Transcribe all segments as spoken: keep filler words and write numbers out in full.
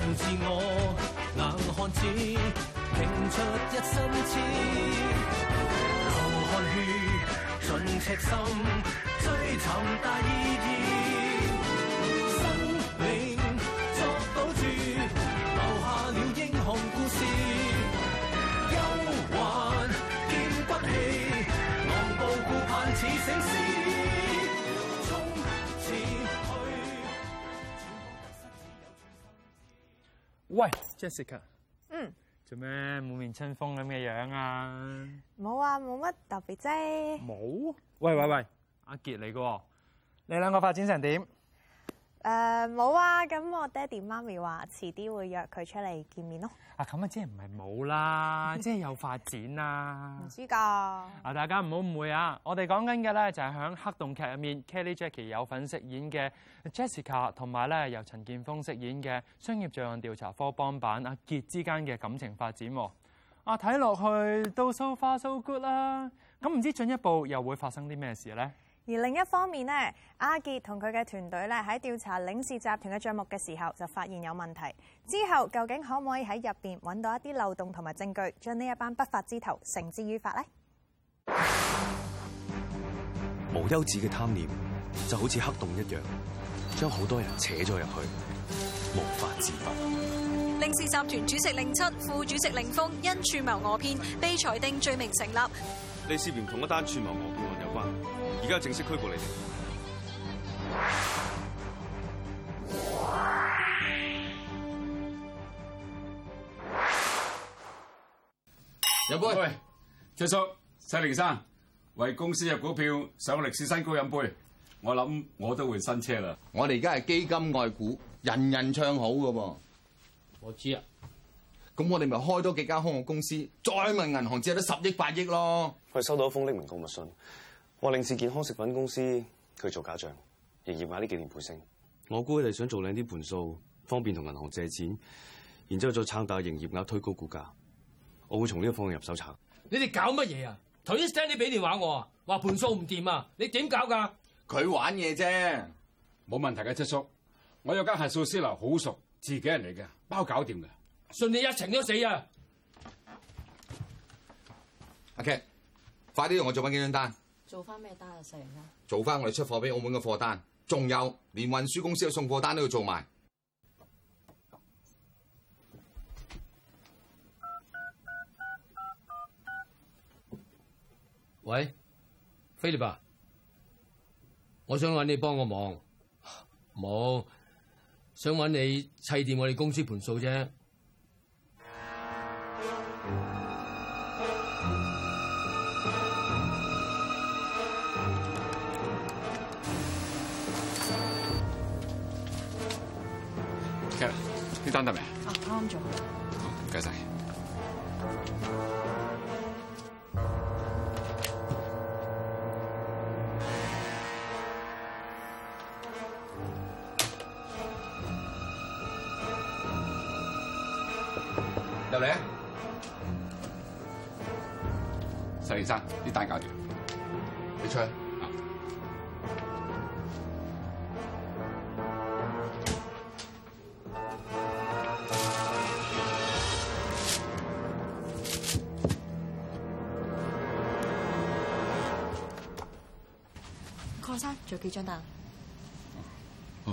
自我，硬漢子拼出一身刺，流汗血盡赤心，追尋大意義，生命作賭注，留下了英雄故事，憂患見骨氣，昂步顧盼似醒獅。 喂 ，Jessica， 嗯， 做咩滿面春風咁嘅樣啊？ 冇啊，冇乜特別啫。 冇？喂喂喂，阿傑嚟嘅，你兩個發展成點？ 誒冇啊，咁我爹哋媽咪話遲啲會約佢出嚟見面咯。 啊，咁啊，即係唔係冇啦，即係有發展啦。 唔知㗎。 啊，大家唔好誤會啊！我哋講緊嘅咧就係響黑洞劇入面 ，Kelly Jackie 有份飾演嘅 Jessica， 同埋咧由陳鍵鋒飾演嘅商業罪案調查科幫辦阿傑之間嘅感情發展。啊，睇落去都 so far so good 啦。咁唔知進一步又會發生啲咩事咧？ 而另一方面呢，阿傑同佢嘅團隊咧喺調查領事集團嘅帳目嘅時候，就發現有問題。之後究竟可唔可以喺入邊揾到一啲漏洞同埋證據，將呢一班不法之徒繩之於法呢？ 無休止嘅貪念就好似黑洞一樣，將好多人扯咗入去，無法自拔。 領事集團主席令七、副主席令峰因串謀訛騙被裁定罪名成立。 你涉嫌同一單串謀訛騙案有關，而家正式拘捕你哋。 飲杯，喂，卓叔、細凌生，為公司嘅股票上歷史新高飲杯。我諗我都會新車啦。 我哋而家係基金外股，人人唱好噶噃。 我知啊。 咁我哋咪開多幾間空殼公司，再問銀行借得十億八億咯。 佢收到一封匿名告密信，話領事健康食品公司佢做假帳，營業額呢幾年倍升。我估佢哋想做靚啲盤數，方便同銀行借錢，然之後再撐大營業額，推高股價。我會從呢個方向入手查。 你哋搞乜嘢啊？頭先 Stanley 俾電話我啊，話盤數唔掂啊，你點搞㗎？ 佢玩嘢啫， 冇問題嘅，七叔。我有間核數師樓好熟，自己人嚟嘅，包搞掂嘅。 信你一程都死啊！ 阿 K， 快啲同我做翻幾張單。 做翻咩單啊，細人家？ 做翻我哋出貨俾澳門嘅貨單，仲有連運輸公司嘅送貨單都要做埋。 喂，菲力啊，我想揾你幫個忙，冇想揾你砌掂我哋公司盤數啫。 呢單得未？ 啊，啱啱做。 好，唔該晒。 入嚟啊！ 細連生，呢單搞掂。 你出去。 鄺生，仲有幾張單？ 哦。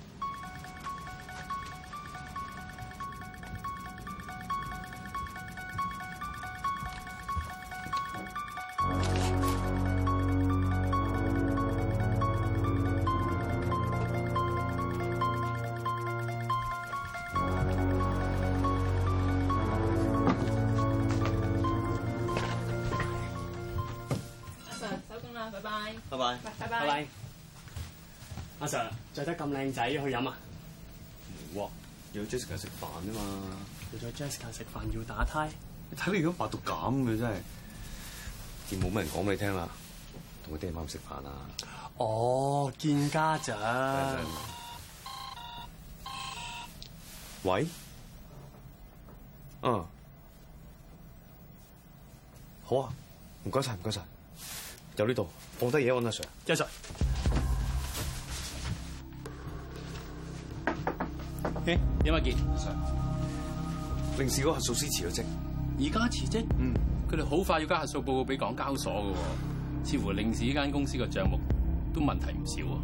拜拜， 拜拜， 拜拜， 拜拜。阿 Sir， 着得咁靚仔，去飲啊？ 唔喎，要 Jessica 食飯啊嘛。 要咗 Jessica 食飯要打呔？ 你睇你而家白到咁嘅真係，見冇乜人講俾你聽啦，同佢爹媽食飯啊。 哦，見家長。 喂？嗯。好啊，唔該晒，唔該晒。有呢度，放低嘢揾阿 Sir。 一 Sir， 點啊傑 Sir， 令事嗰個核數師辭咗職， 而家辭職？嗯，佢哋好快要交核數報告俾港交所嘅喎，似乎令事呢間公司嘅帳目都問題唔少喎。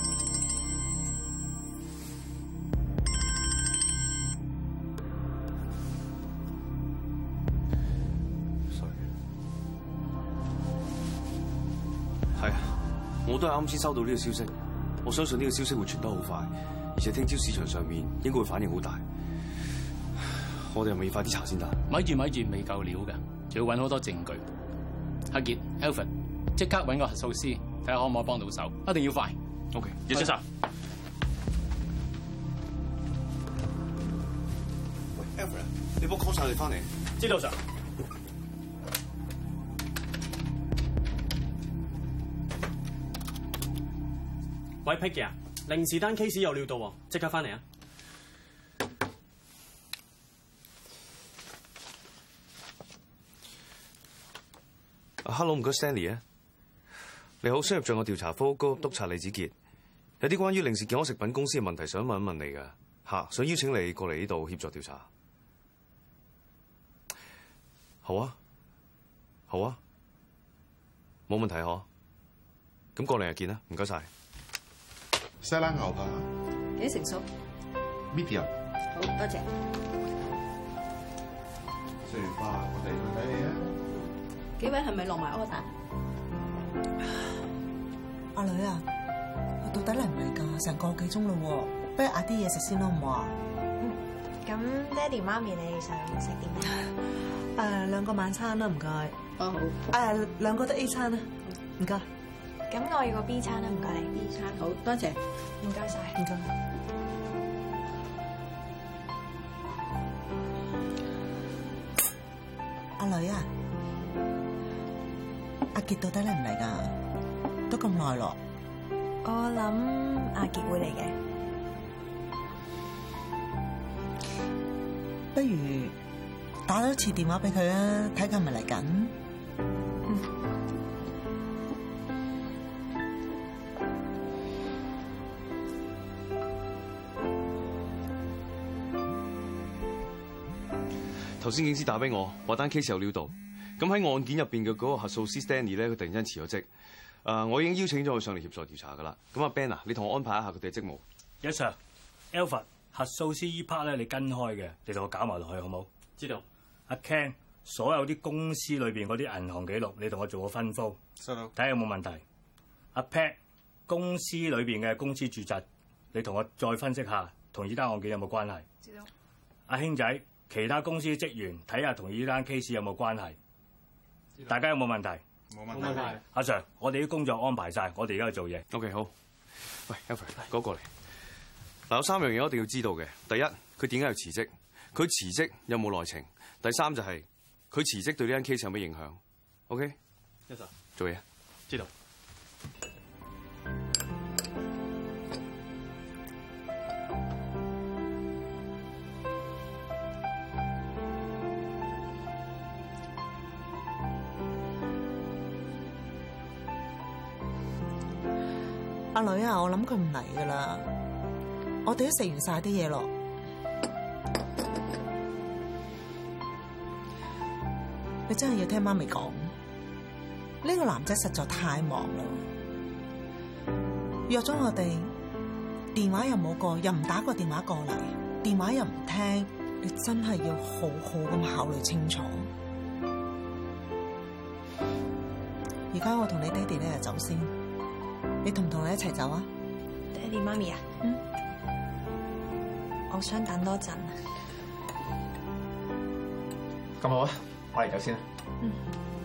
係啊，我都係啱先收到呢個消息，我相信呢個消息會傳得好快，而且聽朝市場上面應該會反應好大。我哋係咪要快啲查先得？ 咪住咪住，未夠料㗎，仲要揾好多證據。阿傑 Alfred 即刻揾個核數師，睇下可唔可以幫到手，一定要快。 OK， 葉先生。 喂 Alfred， 你幫我 call 晒佢哋翻嚟。 知道 Sir。喂 Peggy 啊，零時單 case 有料到喎，即刻翻嚟啊！ 啊 ，Hello， 唔該 Stanley 啊，你好，商業罪案調查科高級督察李子傑，有啲關於令氏健康食品公司嘅問題想問一問你㗎，嚇，想邀請你過嚟呢度協助調查。好啊，好啊，冇問題嗬，咁過嚟日見啦，唔該晒。 西冷牛扒幾成熟 ？medium。 好多謝。 食完飯我哋去睇戲啊！ 幾位係咪落埋 order？ 阿女啊，到底嚟唔嚟㗎？成個幾鐘嘞喎，不如嗌啲嘢食先啦，好唔好啊？ 嗯，咁爹哋媽咪你想食啲咩？ 誒，兩個晚餐啦，唔該。 哦好。 誒，兩個都 A 餐啦，唔該。 咁我要個 B 餐啦，唔該你。 B 餐好多謝， 唔該晒。 唔該。阿女啊，阿傑到底嚟唔嚟㗎？都咁耐咯。 我諗阿傑會嚟嘅。 不如打多次電話俾佢啊，睇佢係咪嚟緊。 嗯。 頭先警司打俾我，話單 case 有料到。咁喺案件入邊嘅嗰個核數師 Stanley 咧，佢突然間辭咗職。誒，我已經邀請咗佢上嚟協助調查㗎啦。咁阿 Ben 啊，你同我安排一下佢哋嘅職務。 Yes sir，Alfred 核數師依 part 咧，你跟開嘅，你同我搞埋落去好冇？ 知道。 阿 Ken，所有啲公司裏邊嗰啲銀行記錄，你同我做個分封， 收到。 睇下有冇問題。阿 Pat，公司裏邊嘅公司住宅，你同我再分析下，同依單案件有冇關係？ 知道。 阿兄仔。其他公司職員睇下同呢單 case 有冇關係？大家有冇問題？ 冇問題。冇問題。 阿 Sir，我哋啲工作安排晒，我哋而家去做嘢。 OK， 好。喂 Alfred， 嗰個嚟。嗱，有三樣嘢我一定要知道嘅。第一，佢點解要辭職？佢辭職有冇內情？第三就係佢辭職對呢單 case 有咩影響 ？OK？ Yes sir。 做嘢。 知道。 阿女啊，我諗佢唔嚟噶啦，我哋都食完晒啲嘢咯。你真係要聽媽咪講，呢個男仔實在太忙啦，約咗我哋，電話又冇過，又唔打個電話過嚟，電話又唔聽，你真係要好好咁考慮清楚。而家我同你爹哋咧就走先。你同唔同你一齊走啊？ 爹哋媽咪啊， 嗯， 我想等多陣。 咁好啊，我嚟走先啦。 嗯。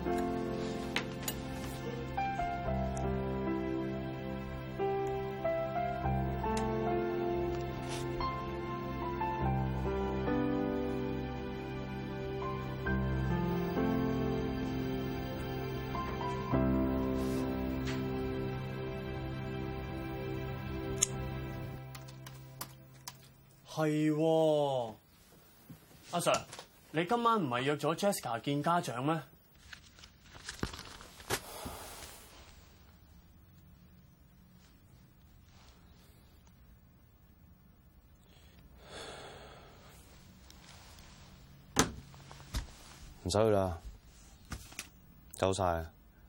係喎，阿 Sir，你今晚唔係約咗 Jessica 見家長咩？ 唔使去啦，走晒。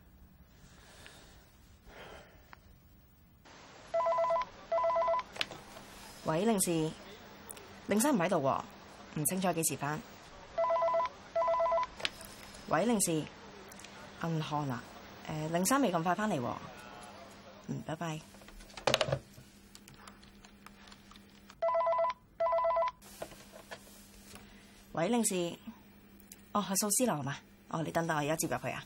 喂，凌氏，凌生唔喺度喎，唔清楚幾時返。喂，凌氏，銀行啊，誒，凌生未咁快返嚟喎。嗯，拜拜。喂，凌氏，哦，係數師樓係嘛？哦，你等等，我而家接入去啊。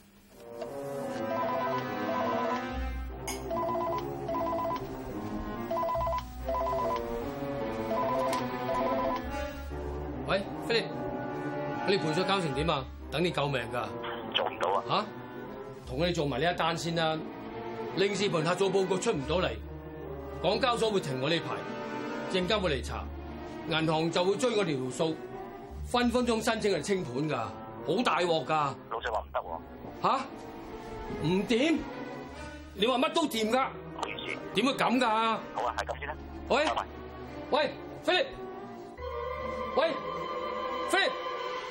喂，菲力，你盤數交成點啊？等你救命㗎！ 做唔到啊！ 嚇，同你做埋呢一單先啦。令視盤核數報告出唔到嚟，港交所會停我呢排，證監會嚟查，銀行就會追我條數，分分鐘申請嚟清盤㗎，好大鑊㗎！ 老細話唔得喎。 嚇？唔掂？你話乜都掂㗎？ 唔好意思。 點會咁㗎？ 好啊，係咁先啦。 喂， 拜拜。 喂，菲力，喂，菲力。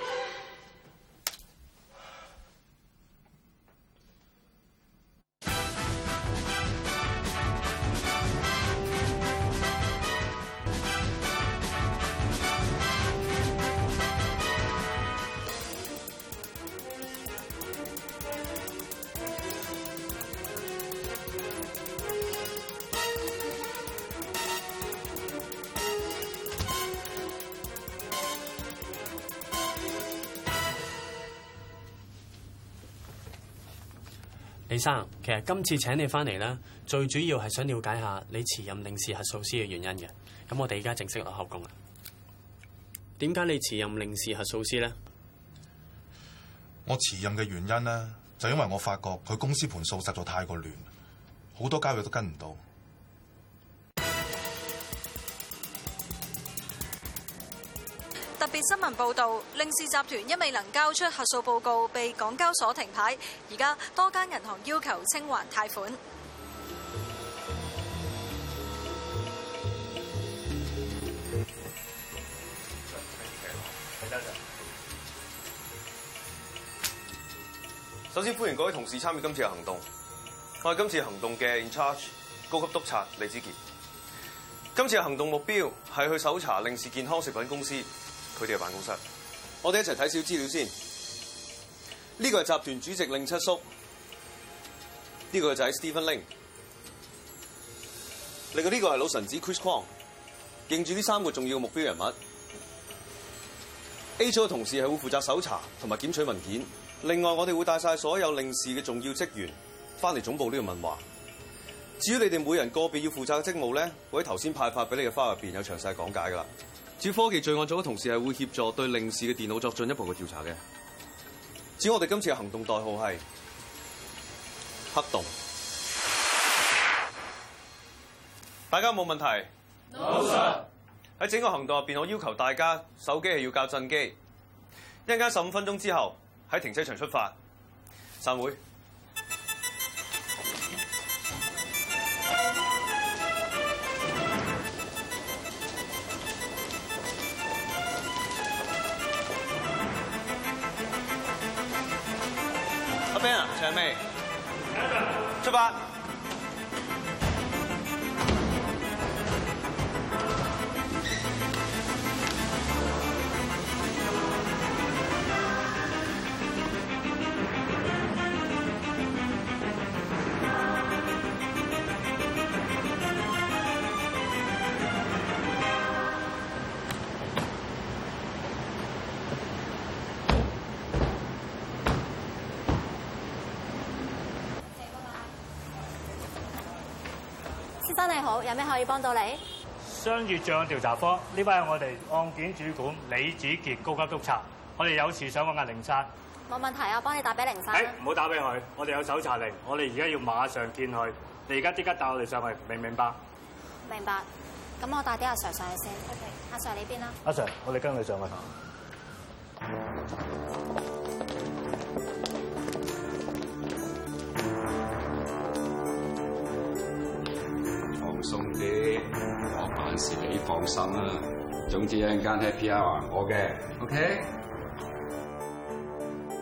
李生，其實今次請你翻嚟咧，最主要係想了解下你辭任領事核數師嘅原因嘅。咁我哋而家正式落口供啦。點解你辭任領事核數師咧？ 我辭任嘅原因咧，就因為我發覺佢公司盤數實在太過亂，好多交易都跟唔到。 特別新聞報導，令氏集團因未能交出核數報告，被港交所停牌。而家多間銀行要求清還貸款。 首先歡迎各位同事參與今次嘅行動。我係今次行動嘅 in charge 高級督察李子傑。今次嘅行動目標係去搜查令氏健康食品公司佢哋嘅辦公室。我哋一齊睇少資料先。呢個係集團主席令七叔，呢個就係 Stephen Ling。另外呢個係老臣子 Chris Kwong。認住呢三個重要嘅目標人物。A 組嘅同事係會負責搜查同埋檢取文件。另外，我哋會帶晒所有令氏嘅重要職員翻嚟總部呢度問話。至於你哋每人個別要負責嘅職務咧，會喺頭先派發俾你嘅花入邊有詳細講解㗎啦。至於科技罪案組嘅同事係會協助對令氏嘅電腦作進一步嘅調查嘅。至於我哋今次嘅行動代號係黑洞。大家有冇問題？冇錯。喺整個行動入邊，我要求大家手機係要校震機。一陣間十五分鐘之後喺停車場出發，散會。阿 Ben 啊，長未？出發。 先生你好，有咩可以幫到你？ 商業罪案調查科，呢位係我哋案件主管李子傑高級督察，我哋有事想揾阿凌生。 冇問題，我幫你打俾凌生。 誒，唔好打俾佢，我哋有搜查令，我哋而家要馬上見佢。你而家即刻帶我哋上去，明唔明白？ 明白。咁我帶啲阿 Sir 上去先。OK， 阿 Sir 呢邊啦。 阿 Sir， 我哋跟佢上去。 放鬆啲，我辦事你放心啦。總之一陣間 happy hour 我嘅 ，OK？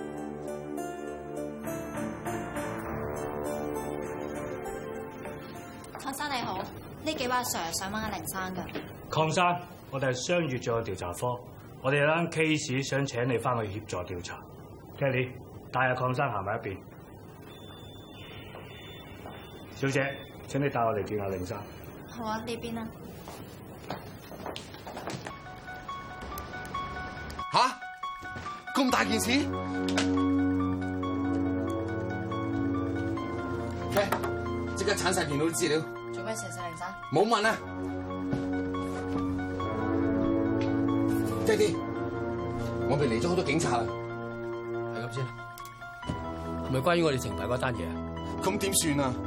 位阿 Sir 想問阿凌生㗎。 鄺生，我哋係商業罪案調查科，我哋有單 case 想請你翻去協助調查。Kelly， 帶阿鄺生行埋一邊。小姐，請你帶我哋見阿凌生。 好啊，呢邊啊。 吓？咁大件事？喂，即刻鏟晒電腦啲資料。 做咩事啊，凌生？ 冇問啊！爹哋，我哋嚟咗好多警察啦。 係咁先，係咪關於我哋停牌嗰單嘢啊？ 咁點算啊？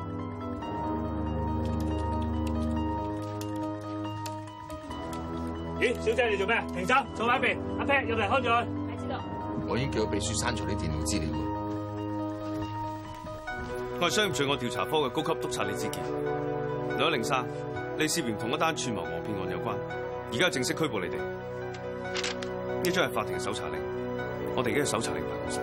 咦，小姐你做咩？停手，坐埋一邊。阿 Pat 入嚟看住佢。 係知道。 我已經叫個秘書刪除啲電腦資料。 我係商業罪案調查科嘅高級督察李志健。兩位凌生，你涉嫌同一單串謀訛騙案有關，而家正式拘捕你哋。呢張係法庭嘅搜查令，我哋而家喺搜查令辦公室。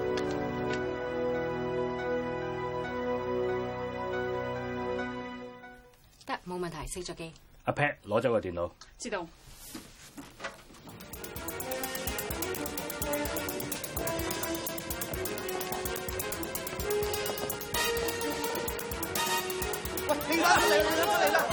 得，冇問題，熄咗機。 阿 Pat 攞咗個電腦。 知道。 喂，凌生嚟啦嚟啦！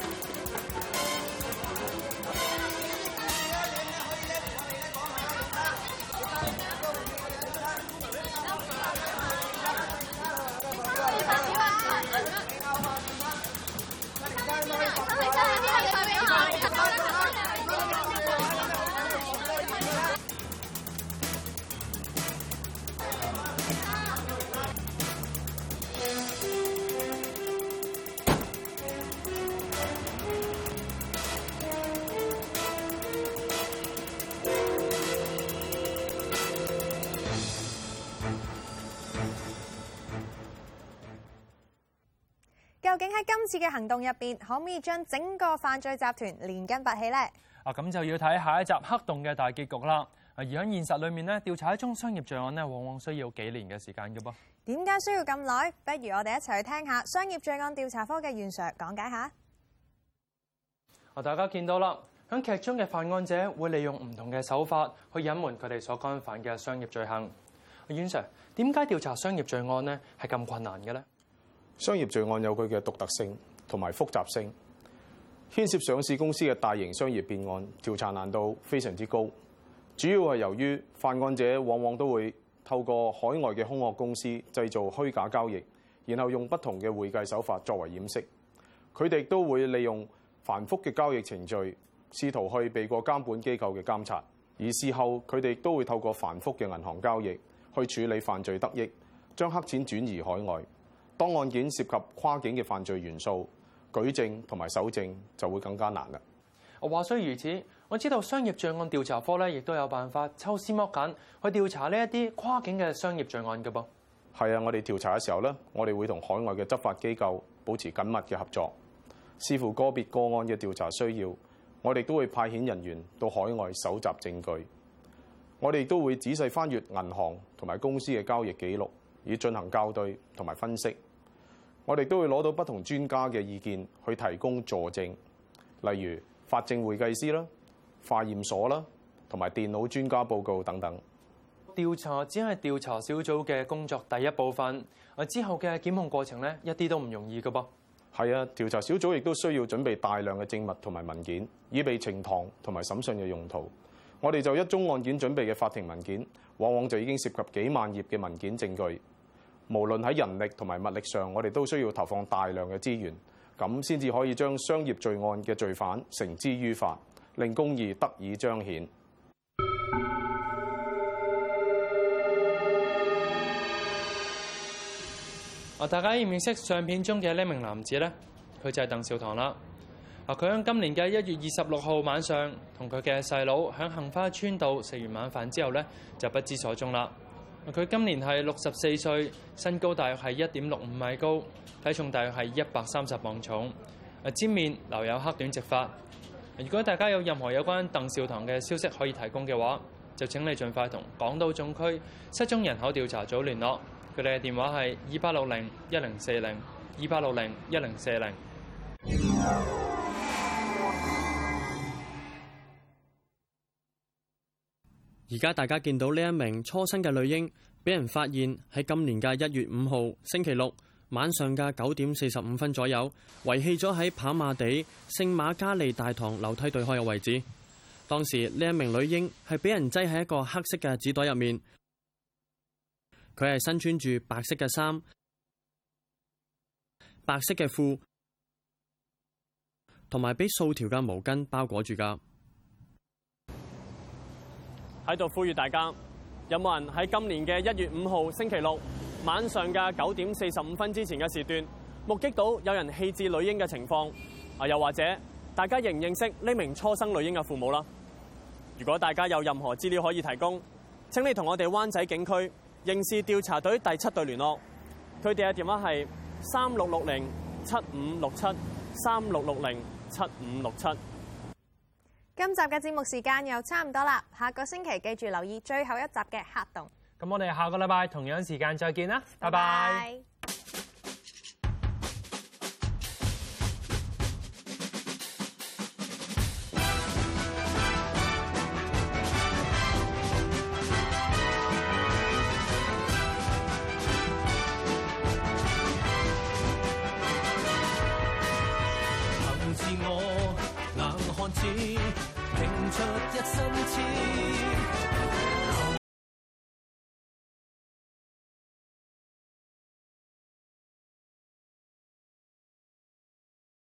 究竟喺今次嘅行動入邊，可唔可以將整個犯罪集團連根拔起呢？ 啊，咁就要睇下一集黑洞嘅大結局啦。而喺現實裏面咧，調查一宗商業罪案咧，往往需要幾年嘅時間嘅噃。 點解需要咁耐？不如我哋一齊去聽下商業罪案調查科嘅袁 Sir 講解下。 啊，大家見到啦，喺劇中嘅犯案者會利用唔同嘅手法去隱瞞佢哋所干犯嘅商業罪行。袁 Sir，點解調查商業罪案呢係咁困難嘅呢？ 商業罪案有佢嘅獨特性同埋複雜性，牽涉上市公司嘅大型商業騙案，調查難度非常之高。主要係由於犯案者往往都會透過海外嘅空殼公司製造虛假交易，然後用不同嘅會計手法作為掩飾。佢哋都會利用繁複嘅交易程序，試圖去避過監管機構嘅監察。而事後佢哋都會透過繁複嘅銀行交易去處理犯罪得益，將黑錢轉移海外。當案件涉及跨境嘅犯罪元素，舉證同埋搜證就會更加難啦。 話雖如此，我知道商業罪案調查科咧，亦都有辦法抽絲剝繭去調查呢一啲跨境嘅商業罪案嘅噃。 係啊，我哋調查嘅時候咧，我哋會同海外嘅執法機構保持緊密嘅合作，視乎個別個案嘅調查需要，我哋都會派遣人員到海外搜集證據。我哋都會仔細翻閱銀行同埋公司嘅交易記錄，以進行校對同埋分析。我哋都會攞到不同專家嘅意見去提供助證，例如法證會計師啦、化驗所啦，同埋電腦專家報告等等。 調查只係調查小組嘅工作第一部分，啊之後嘅檢控過程咧，一啲都唔容易㗎噃。 係啊，調查小組亦都需要準備大量嘅證物同埋文件，以備呈堂同埋審訊嘅用途。我哋就一宗案件準備嘅法庭文件，往往就已經涉及幾萬頁嘅文件證據。無論喺人力同埋物力上，我哋都需要投放大量嘅資源，咁先至可以將商業罪案嘅罪犯繩之於法，令公義得以彰顯。 啊！大家認唔認識相片中嘅呢名男子呢？佢就係鄧兆棠啦。啊！佢喺今年嘅一月二十六號晚上，同佢嘅細佬喺杏花村道食完晚飯之後呢，就不知所蹤啦。佢今年係六十四歲，身高大約係一點六五米高，體重大約係一百三十磅重。啊，尖面留有黑短直髮。如果大家有任何有關鄧兆棠嘅消息可以提供嘅話，就請你盡快同港島總區失蹤人口調查組聯絡。佢哋嘅電話係二八六零一零四零二八六零一零四零。 而家大家見到呢一名初生嘅女嬰，俾人發現喺今年嘅一月五號星期六晚上嘅九點四十五分左右，遺棄咗喺跑馬地聖瑪加利大堂樓梯對開嘅位置。當時呢一名女嬰係俾人擠喺一個黑色嘅紙袋入面，佢係身穿住白色嘅衫、白色嘅褲，同埋俾數條嘅毛巾包裹住㗎。喺度呼籲大家，有冇人喺今年嘅一月五號星期六晚上嘅九點四十五分之前嘅時段，目擊到有人棄置女嬰嘅情況？啊，又或者大家認唔認識呢名初生女嬰嘅父母啦？如果大家有任何資料可以提供，請你同我哋灣仔警區刑事調查隊第七隊聯絡，佢哋嘅電話係三六六零七五六七三六六零七五六七。 今集嘅節目時間又差唔多啦，下個星期記住留意最後一集嘅黑洞。 咁我哋下個禮拜同樣時間再見啦，拜拜。 憑自我硬漢子，拼出一身刺。